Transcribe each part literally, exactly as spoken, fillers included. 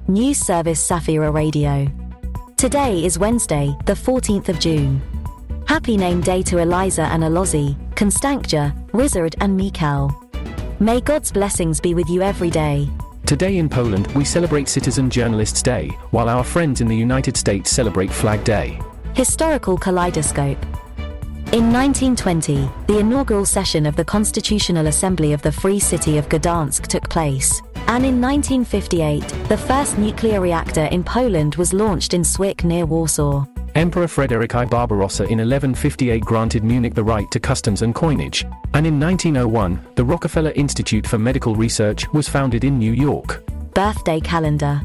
News Service Safira Radio. Today is Wednesday, the fourteenth of June. Happy name day to Eliza and Alozi, Constancia, Rizard and Mikal. May God's blessings be with you every day. Today in Poland we celebrate Citizen Journalists Day, while our friends in the United States celebrate Flag Day. Historical kaleidoscope. In nineteen twenty, the inaugural session of the Constitutional Assembly of the Free City of Gdansk took place, and in nineteen fifty-eight, the first nuclear reactor in Poland was launched in Swick near Warsaw. Emperor Frederick I Barbarossa in eleven fifty-eight granted Munich the right to customs and coinage, and in nineteen oh one, the Rockefeller Institute for Medical Research was founded in New York. Birthday calendar.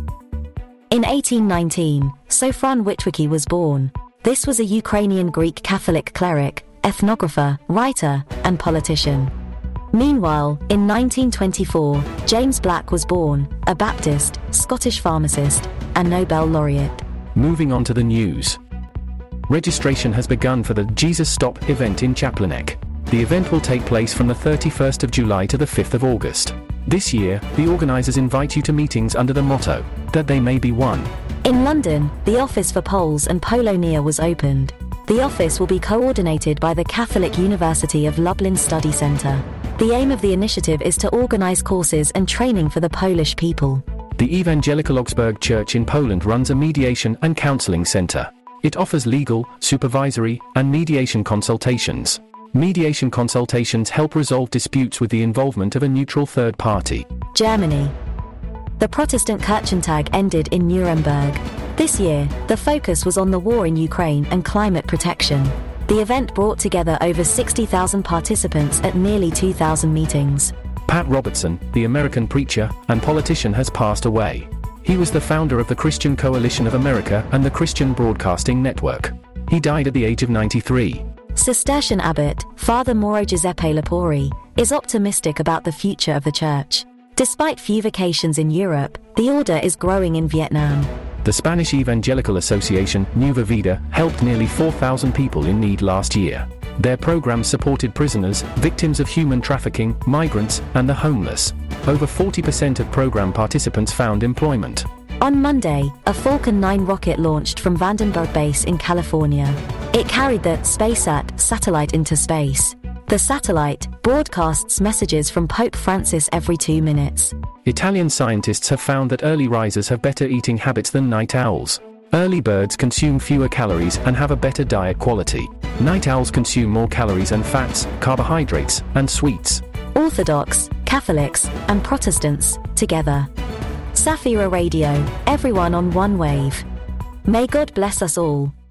In eighteen nineteen, Sofron Witwicki was born. This was a Ukrainian Greek Catholic cleric, ethnographer, writer, and politician. Meanwhile, in nineteen twenty-four, James Black was born, a Baptist, Scottish pharmacist, and Nobel laureate. Moving on to the news. Registration has begun for the Jesus Stop event in Czaplinec. The event will take place from the thirty-first of July to the fifth of August. This year, the organizers invite you to meetings under the motto, that they may be one. In London, the Office for Poles and Polonia was opened. The office will be coordinated by the Catholic University of Lublin Study Centre. The aim of the initiative is to organize courses and training for the Polish people. The Evangelical Augsburg Church in Poland runs a mediation and counseling center. It offers legal, supervisory, and mediation consultations. Mediation consultations help resolve disputes with the involvement of a neutral third party. Germany. The Protestant Kirchentag ended in Nuremberg. This year, the focus was on the war in Ukraine and climate protection. The event brought together over sixty thousand participants at nearly two thousand meetings. Pat Robertson, the American preacher and politician, has passed away. He was the founder of the Christian Coalition of America and the Christian Broadcasting Network. He died at the age of ninety-three. Cistercian abbot, Father Mauro Giuseppe Lapori, is optimistic about the future of the church. Despite few vacations in Europe, the order is growing in Vietnam. The Spanish Evangelical Association, Nueva Vida, helped nearly four thousand people in need last year. Their programs supported prisoners, victims of human trafficking, migrants, and the homeless. Over forty percent of program participants found employment. On Monday, a Falcon nine rocket launched from Vandenberg Base in California. It carried the SpaceSat satellite into space. The satellite broadcasts messages from Pope Francis every two minutes. Italian scientists have found that early risers have better eating habits than night owls. Early birds consume fewer calories and have a better diet quality. Night owls consume more calories and fats, carbohydrates, and sweets. Orthodox, Catholics, and Protestants, together. Safira Radio, everyone on one wave. May God bless us all.